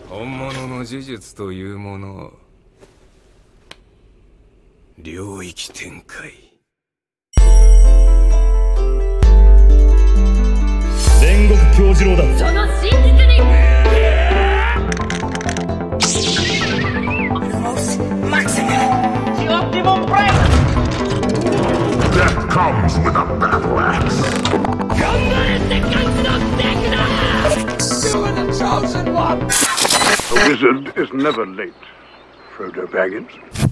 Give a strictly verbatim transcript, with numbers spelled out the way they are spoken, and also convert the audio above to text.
本物の呪術というもの、領域展開。 煉獄杏寿郎だ。 その真実に Death comes with a battle axe. 頑張れって感じのデクだ You are the chosen one! A wizard is never late, Frodo Baggins.